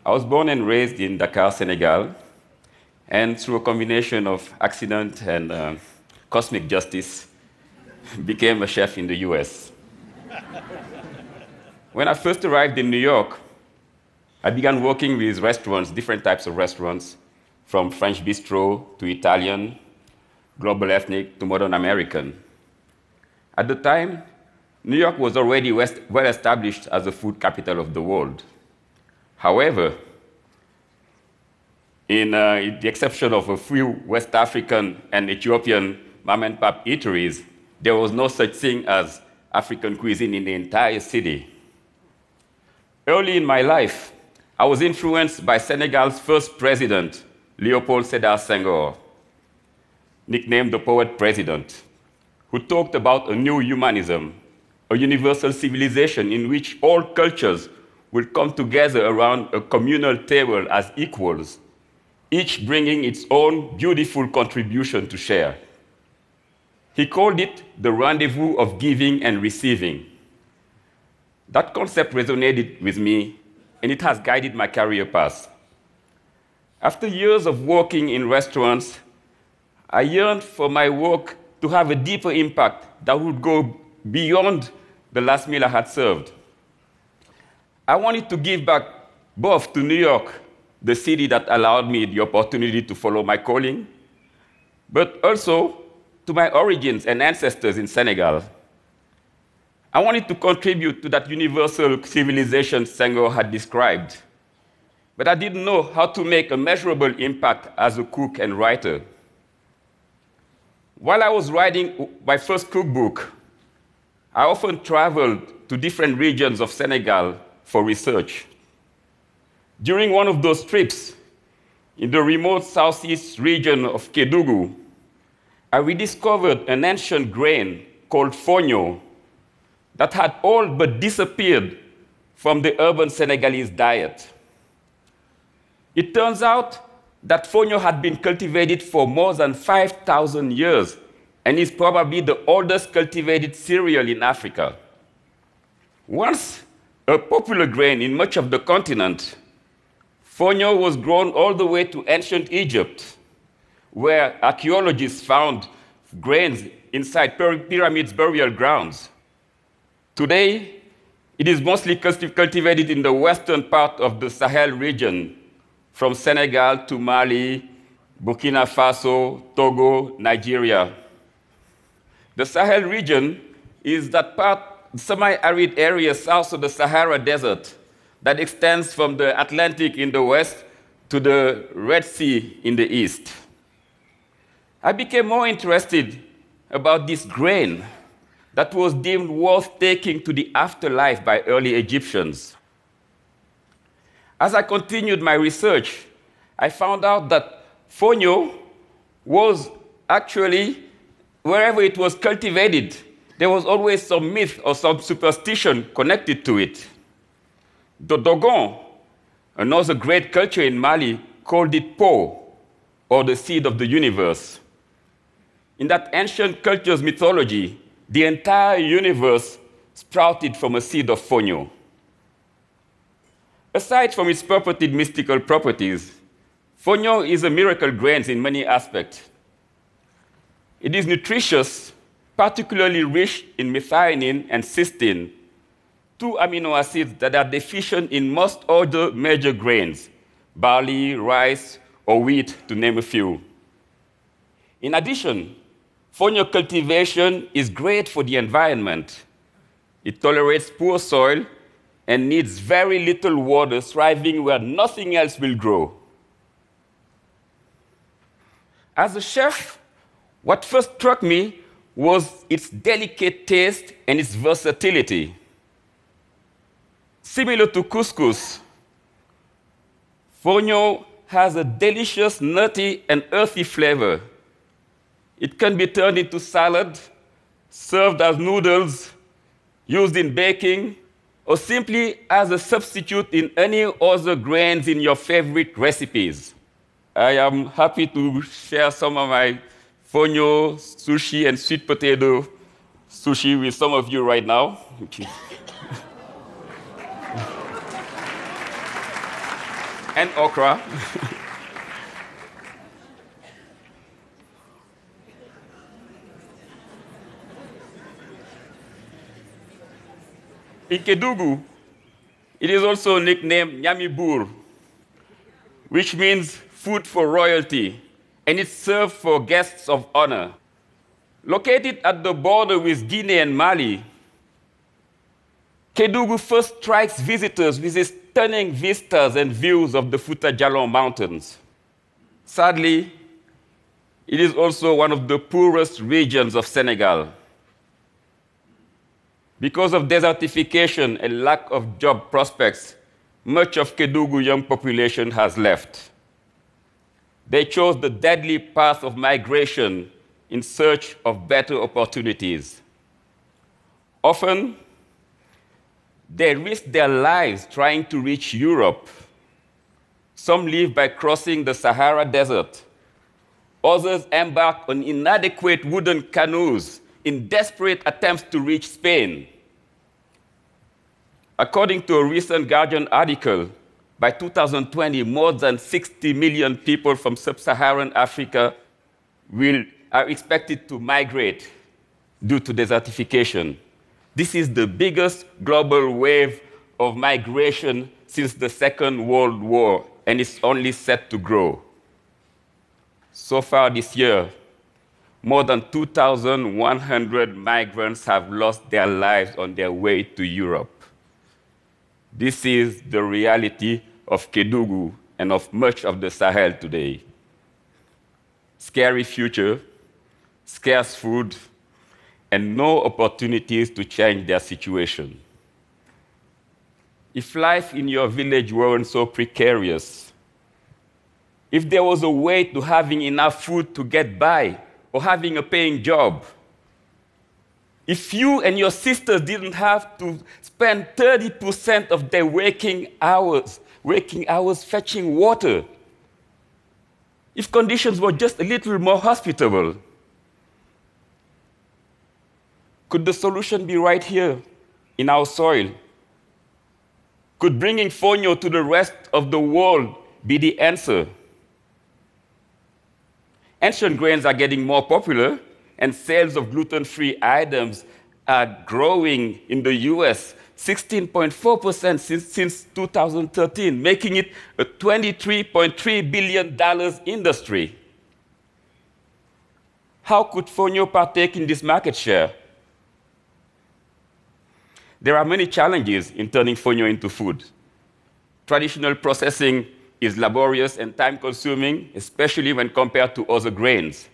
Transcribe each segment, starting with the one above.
I was born and raised in Dakar, Senegal, and through a combination of accident and cosmic justice, became a chef in the US. When I first arrived in New York, I began working with restaurants, different types of restaurants, from French bistro to Italian, global ethnic to modern American. At the time, New York was already well established as the food capital of the world. However, in the exception of a few West African and Ethiopian mom-and-pop eateries, there was no such thing as African cuisine in the entire city. Early in my life, I was influenced by Senegal's first president, Léopold Sédar Senghor, nicknamed the Poet President, who talked about a new humanism, a universal civilization in which all cultures will come together around a communal table as equals, each bringing its own beautiful contribution to share. He called it the rendezvous of giving and receiving. That concept resonated with me, and it has guided my career path. After years of working in restaurants, I yearned for my work to have a deeper impact that would go beyond the last meal I had served. I wanted to give back both to New York, the city that allowed me the opportunity to follow my calling, but also to my origins and ancestors in Senegal. I wanted to contribute to that universal civilization Senghor had described, but I didn't know how to make a measurable impact as a cook and writer. While I was writing my first cookbook, I often traveled to different regions of Senegal for research. During one of those trips, in the remote southeast region of Kédougou, I rediscovered an ancient grain called fonio that had all but disappeared from the urban Senegalese diet. It turns out that fonio had been cultivated for more than 5,000 years and is probably the oldest cultivated cereal in Africa. Once a popular grain in much of the continent, fonio was grown all the way to ancient Egypt, where archaeologists found grains inside pyramids burial grounds. Today, it is mostly cultivated in the western part of the Sahel region, from Senegal to Mali, Burkina Faso, Togo, Nigeria. The Sahel region is that semi-arid area south of the Sahara Desert that extends from the Atlantic in the west to the Red Sea in the east. I became more interested about this grain that was deemed worth taking to the afterlife by early Egyptians. As I continued my research, I found out that fonio was actually, wherever it was cultivated, there was always some myth or some superstition connected to it. The Dogon, another great culture in Mali, called it Po, or the seed of the universe. In that ancient culture's mythology, the entire universe sprouted from a seed of fonio. Aside from its purported mystical properties, fonio is a miracle grain in many aspects. It is nutritious, particularly rich in methionine and cysteine, two amino acids that are deficient in most other major grains, barley, rice, or wheat, to name a few. In addition, fonio cultivation is great for the environment. It tolerates poor soil and needs very little water, thriving where nothing else will grow. As a chef, what first struck me was its delicate taste and its versatility. Similar to couscous, fonio has a delicious, nutty, and earthy flavor. It can be turned into salad, served as noodles, used in baking, or simply as a substitute in any other grains in your favorite recipes. I am happy to share some of my fonio sushi and sweet potato sushi with some of you right now. and okra. In Kedugu, it is also nicknamed Nyamibur, which means food for royalty, and it's served for guests of honor. Located at the border with Guinea and Mali, Kedugu first strikes visitors with its stunning vistas and views of the Fouta Djallon Mountains. Sadly, it is also one of the poorest regions of Senegal. Because of desertification and lack of job prospects, much of Kedugu young population has left. They chose the deadly path of migration in search of better opportunities. Often, they risk their lives trying to reach Europe. Some live by crossing the Sahara Desert. Others embark on inadequate wooden canoes in desperate attempts to reach Spain. According to a recent Guardian article, by 2020, more than 60 million people from sub-Saharan Africa are expected to migrate due to desertification. This is the biggest global wave of migration since the Second World War, and it's only set to grow. So far this year, more than 2,100 migrants have lost their lives on their way to Europe. This is the reality of Kedugu and of much of the Sahel today. Scary future, scarce food, and no opportunities to change their situation. If life in your village weren't so precarious, if there was a way to having enough food to get by or having a paying job, if you and your sisters didn't have to spend 30% of their waking hours fetching water, if conditions were just a little more hospitable, could the solution be right here in our soil? Could bringing fonio to the rest of the world be the answer? Ancient grains are getting more popular, and sales of gluten-free items are growing in the US 16.4% since 2013, making it a $23.3 billion industry. How could fonio partake in this market share? There are many challenges in turning fonio into food. Traditional processing is laborious and time-consuming, especially when compared to other grains.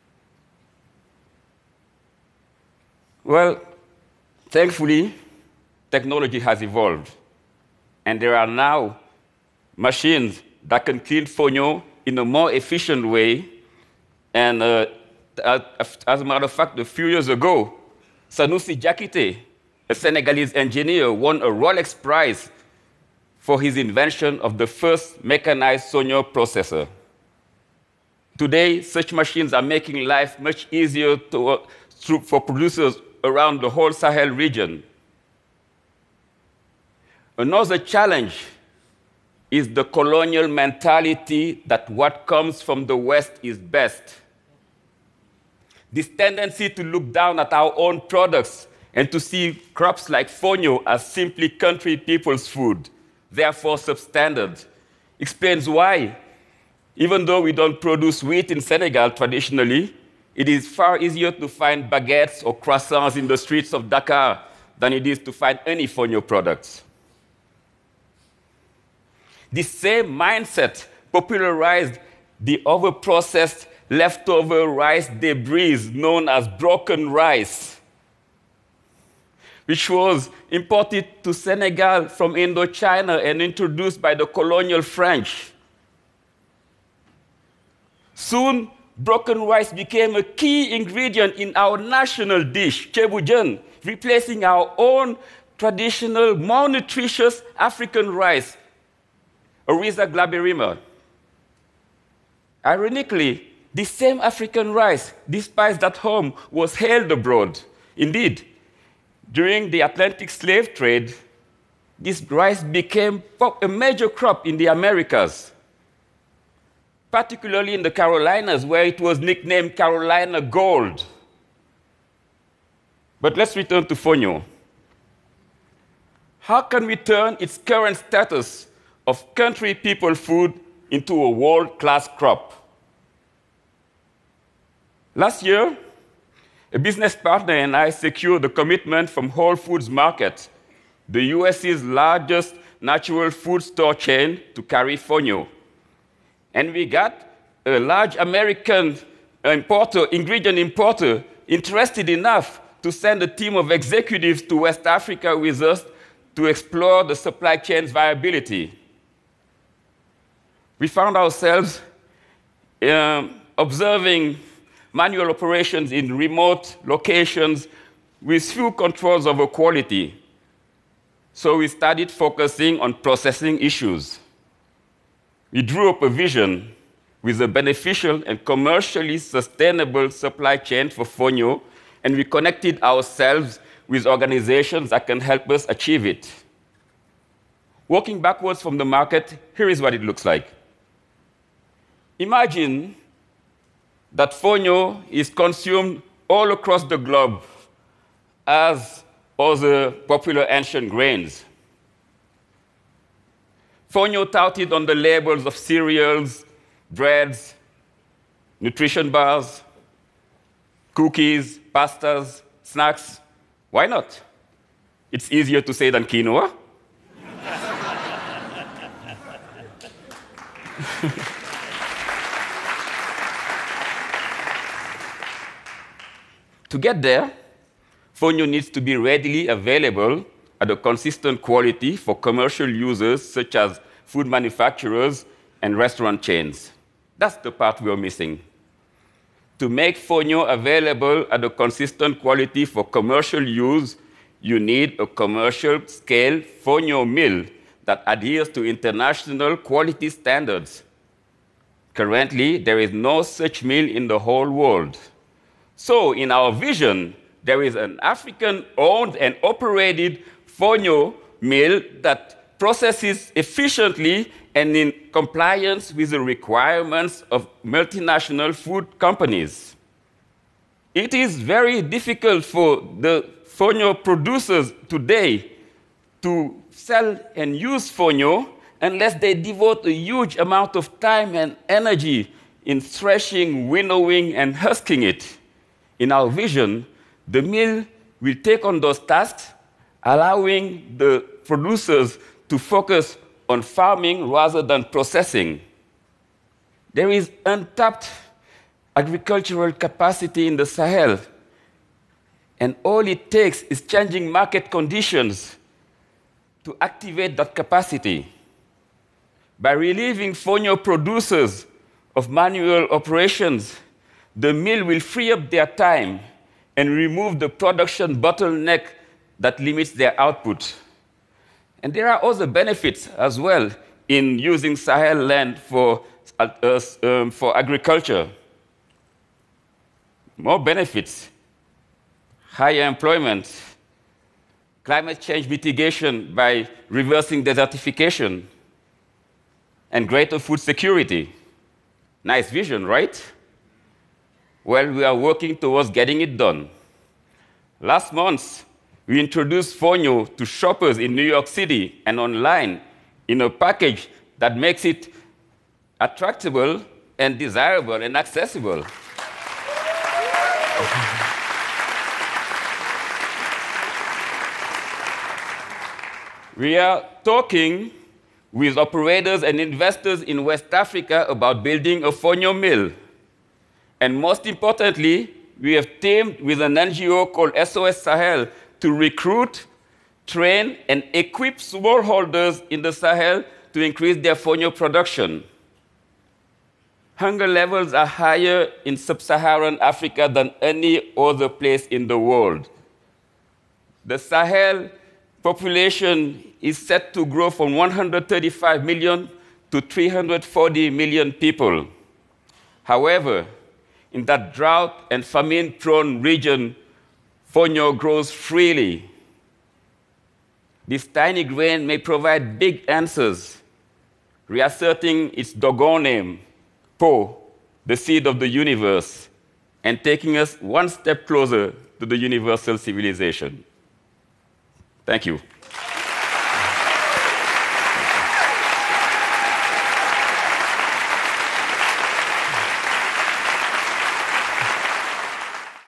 Well, thankfully, technology has evolved, and there are now machines that can clean fonio in a more efficient way. And as a matter of fact, a few years ago, Sanusi Jakite, a Senegalese engineer, won a Rolex Prize for his invention of the first mechanized fonio processor. Today, such machines are making life much easier for producers around the whole Sahel region. Another challenge is the colonial mentality that what comes from the West is best. This tendency to look down at our own products and to see crops like fonio as simply country people's food, therefore substandard, explains why, even though we don't produce wheat in Senegal traditionally, it is far easier to find baguettes or croissants in the streets of Dakar than it is to find any fonio products. This same mindset popularized the overprocessed leftover rice debris known as broken rice, which was imported to Senegal from Indochina and introduced by the colonial French. Soon, broken rice became a key ingredient in our national dish, cebujan, replacing our own traditional, more nutritious African rice, Oryza glaberrima. Ironically, this same African rice, despised at home, was hailed abroad. Indeed, during the Atlantic slave trade, this rice became a major crop in the Americas, particularly in the Carolinas, where it was nicknamed Carolina Gold. But let's return to fonio. How can we turn its current status of country people food into a world-class crop? Last year, a business partner and I secured a commitment from Whole Foods Market, the US's largest natural food store chain, to carry fonio. And we got a large American ingredient importer interested enough to send a team of executives to West Africa with us to explore the supply chain's viability. We found ourselves observing manual operations in remote locations with few controls over quality. So we started focusing on processing issues. We drew up a vision with a beneficial and commercially sustainable supply chain for fonio, and we connected ourselves with organizations that can help us achieve it. Working backwards from the market, here is what it looks like. Imagine that fonio is consumed all across the globe as other popular ancient grains. Fonio touted on the labels of cereals, breads, nutrition bars, cookies, pastas, snacks. Why not? It's easier to say than quinoa. To get there, fonio needs to be readily available at a consistent quality for commercial users such as food manufacturers and restaurant chains. That's the part we're missing. To make fonio available at a consistent quality for commercial use, you need a commercial-scale fonio mill that adheres to international quality standards. Currently, there is no such mill in the whole world. So, in our vision, there is an African-owned and operated fonio mill that processes efficiently and in compliance with the requirements of multinational food companies. It is very difficult for the fonio producers today to sell and use fonio unless they devote a huge amount of time and energy in threshing, winnowing, and husking it. In our vision, the mill will take on those tasks, allowing the producers to focus on farming rather than processing. There is untapped agricultural capacity in the Sahel, and all it takes is changing market conditions to activate that capacity. By relieving fonio producers of manual operations, the mill will free up their time and remove the production bottleneck that limits their output. And there are other benefits as well in using Sahel land for agriculture. More benefits: higher employment, climate change mitigation by reversing desertification, and greater food security. Nice vision, right? Well, we are working towards getting it done. Last month, we introduced fonio to shoppers in New York City and online in a package that makes it attractable and desirable and accessible. We are talking with operators and investors in West Africa about building a fonio mill. And most importantly, we have teamed with an NGO called SOS Sahel to recruit, train, and equip smallholders in the Sahel to increase their fonio production. Hunger levels are higher in sub-Saharan Africa than any other place in the world. The Sahel population is set to grow from 135 million to 340 million people. However, in that drought and famine-prone region, fonio grows freely. this tiny grain may provide big answers, reasserting its Dogon name, Po, the seed of the universe, and taking us one step closer to the universal civilization. Thank you.